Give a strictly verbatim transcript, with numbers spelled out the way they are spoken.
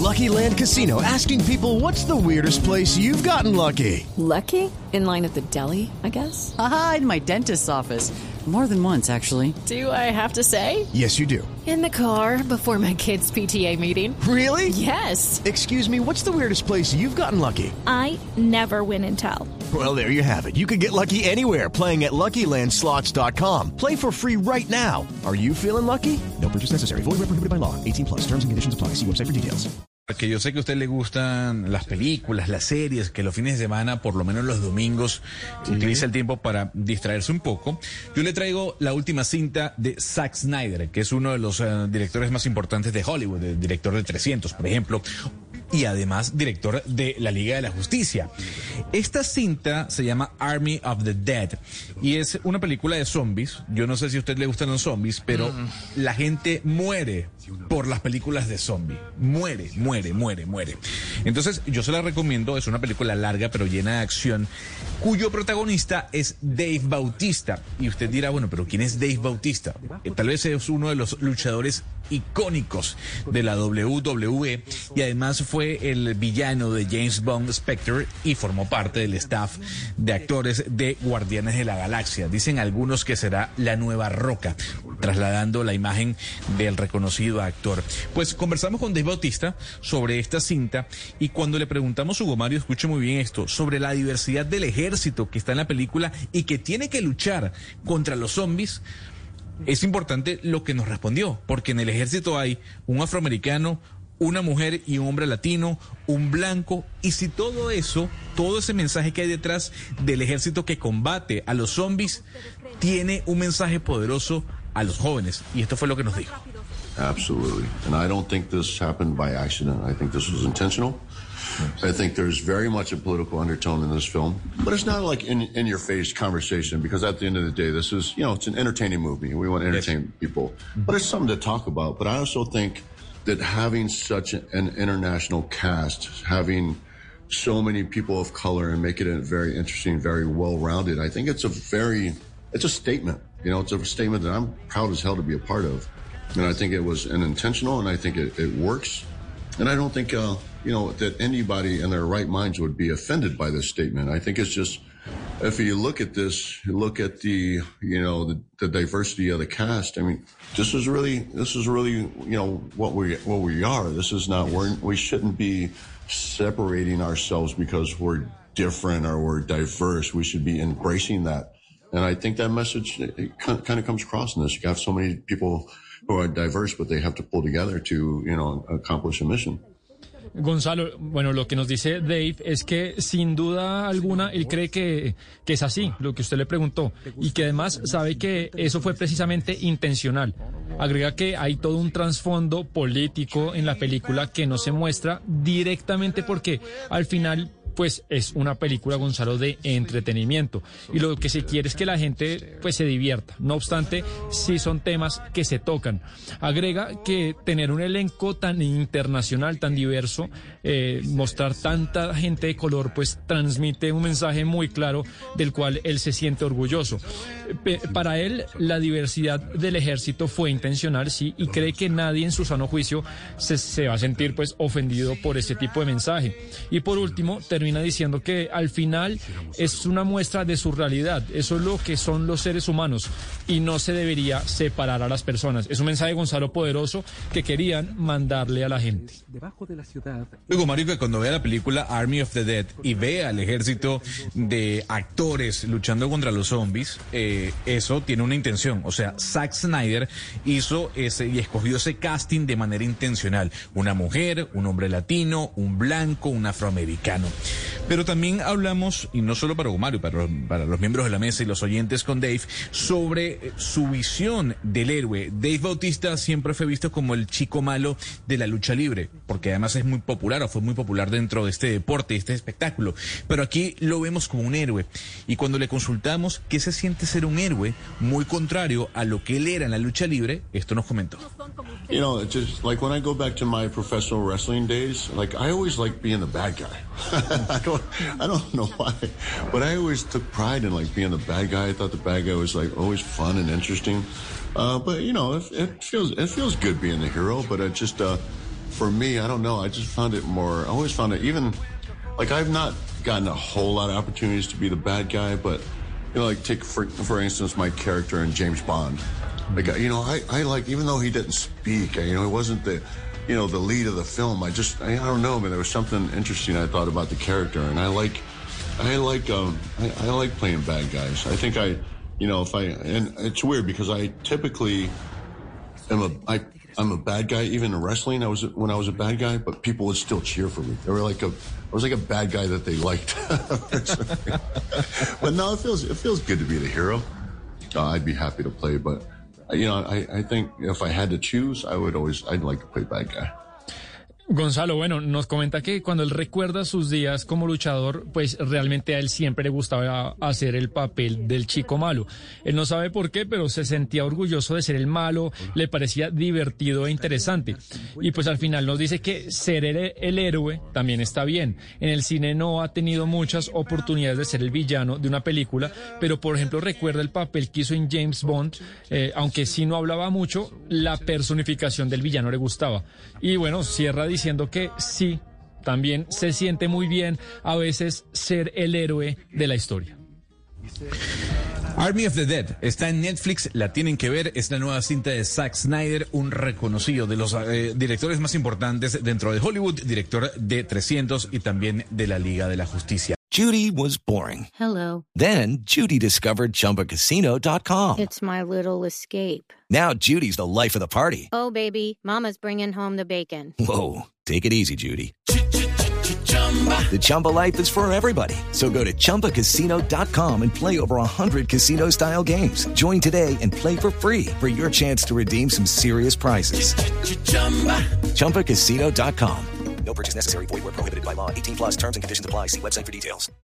Lucky Land Casino, asking people, what's the weirdest place you've gotten lucky? Lucky? In line at the deli, I guess? Aha, in my dentist's office. More than once, actually. Do I have to say? Yes, you do. In the car before my kids' P T A meeting. Really? Yes. Excuse me, what's the weirdest place you've gotten lucky? I never win and tell. Well, there you have it. You can get lucky anywhere, playing at Lucky Land Slots dot com. Play for free right now. Are you feeling lucky? No purchase necessary. Void where prohibited by law. eighteen plus. Terms and conditions apply. See website for details. Que yo sé que a usted le gustan las películas, las series, que los fines de semana, por lo menos los domingos, sí, utiliza el tiempo para distraerse un poco. Yo le traigo la última cinta de Zack Snyder, que es uno de los uh, directores más importantes de Hollywood, el director de trescientos, por ejemplo, y además director de la Liga de la Justicia. Esta cinta se llama Army of the Dead y es una película de zombies. Yo no sé si a usted le gustan los zombies, pero mm. la gente muere por las películas de zombies. Muere, muere, muere, muere. Entonces yo se la recomiendo. Es una película larga pero llena de acción, cuyo protagonista es Dave Bautista. Y usted dirá, bueno, pero ¿quién es Dave Bautista? Eh, tal vez es uno de los luchadores icónicos de la W W E y además fue el villano de James Bond Spectre y formó parte del staff de actores de Guardianes de la Galaxia. Dicen algunos que será la nueva Roca, trasladando la imagen del reconocido actor. Pues conversamos con Dave Bautista sobre esta cinta y cuando le preguntamos, Hugo Mario, escuche muy bien esto, sobre la diversidad del ejército que está en la película y que tiene que luchar contra los zombies, es importante lo que nos respondió, porque en el ejército hay un afroamericano, una mujer y un hombre latino, un blanco, y si todo eso, todo ese mensaje que hay detrás del ejército que combate a los zombies, tiene un mensaje poderoso a los jóvenes, y esto fue lo que nos dijo. Absolutely, and I don't think this happened by accident. I think this was intentional. I think there's very much a political undertone in this film, but it's not like in, in your face conversation, because at the end of the day, this is, you know, it's an entertaining movie. We want to entertain yes. people, but it's something to talk about. But I also think that having such an international cast, having so many people of color and make it a very interesting, very well-rounded, I think it's a very, it's a statement. You know, it's a statement that I'm proud as hell to be a part of. And I think it was an intentional, and I think it, it works. And I don't think, uh, you know, that anybody in their right minds would be offended by this statement. I think it's just, if you look at this, you look at the, you know, the, the diversity of the cast. I mean, this is really, this is really, you know, what we, what we are. This is not, we're, we shouldn't be separating ourselves because we're different or we're diverse. We should be embracing that. And I think that message, it kind of comes across in this. You have so many people who are diverse, but they have to pull together to, you know, accomplish a mission. Gonzalo, bueno, lo que nos dice Dave es que sin duda alguna él cree que, que es así, lo que usted le preguntó, y que además sabe que eso fue precisamente intencional. Agrega que hay todo un trasfondo político en la película que no se muestra directamente porque al final pues es una película, Gonzalo, de entretenimiento, y lo que se quiere es que la gente pues se divierta. No obstante, sí son temas que se tocan. Agrega que tener un elenco tan internacional, tan diverso, eh, mostrar tanta gente de color, pues transmite un mensaje muy claro del cual él se siente orgulloso. Pe- para él, la diversidad del ejército fue intencional, sí, y cree que nadie en su sano juicio se, se va a sentir pues ofendido por este tipo de mensaje. Y por último, termina diciendo que al final es una muestra de su realidad. Eso es lo que son los seres humanos y no se debería separar a las personas. Es un mensaje, Gonzalo, poderoso que querían mandarle a la gente. Luego, Mario, que cuando vea la película Army of the Dead y vea al ejército de actores luchando contra los zombies, eh, eso tiene una intención. O sea, Zack Snyder hizo ese y escogió ese casting de manera intencional. Una mujer, un hombre latino, un blanco, un afroamericano. Pero también hablamos, y no solo para Mario, para, para los miembros de la mesa y los oyentes con Dave, sobre su visión del héroe. Dave Bautista siempre fue visto como el chico malo de la lucha libre, porque además es muy popular, o fue muy popular dentro de este deporte, este espectáculo. Pero aquí lo vemos como un héroe. Y cuando le consultamos qué se siente ser un héroe, muy contrario a lo que él era en la lucha libre, esto nos comentó. You know, it's just like when I go back to my professional wrestling days, like I always liked being the bad guy. I don't, I don't know why, but I always took pride in like being the bad guy. I thought the bad guy was like always fun and interesting. Uh, but you know, it, it feels, it feels good being the hero. But it just, uh, for me, I don't know. I just found it more. I always found it even like I've not gotten a whole lot of opportunities to be the bad guy, but you know, like take for for instance my character in James Bond. Like you know, I I like even though he didn't speak, you know, he wasn't the you know the lead of the film. I just I, I don't know, man. There was something interesting I thought about the character, and I like I like um I, I like playing bad guys. I think I you know if I and it's weird because I typically am a I. I'm a bad guy, even in wrestling. I was when I was a bad guy, but people would still cheer for me. They were like a, I was like a bad guy that they liked. But no, it feels it feels good to be the hero. Uh, I'd be happy to play, but you know, I, I think if I had to choose, I would always I'd like to play bad guy. Gonzalo, bueno, nos comenta que cuando él recuerda sus días como luchador, pues realmente a él siempre le gustaba hacer el papel del chico malo. Él no sabe por qué, pero se sentía orgulloso de ser el malo, le parecía divertido e interesante. Y pues al final nos dice que ser el, el héroe también está bien. En el cine no ha tenido muchas oportunidades de ser el villano de una película, pero por ejemplo recuerda el papel que hizo en James Bond, eh, aunque sí no hablaba mucho, la personificación del villano le gustaba. Y bueno, cierra diciendo que sí, también se siente muy bien a veces ser el héroe de la historia. Army of the Dead está en Netflix, la tienen que ver, es la nueva cinta de Zack Snyder, un reconocido de los eh, directores más importantes dentro de Hollywood, director de trescientos y también de la Liga de la Justicia. Judy was boring. Hello. Then Judy discovered Chumba Casino dot com. It's my little escape. Now Judy's the life of the party. Oh, baby, mama's bringing home the bacon. Whoa, take it easy, Judy. The Chumba life is for everybody. So go to Chumba Casino dot com and play over one hundred casino-style games. Join today and play for free for your chance to redeem some serious prizes. Chumba Casino dot com. No purchase necessary. Void where prohibited by law. eighteen plus terms and conditions apply. See website for details.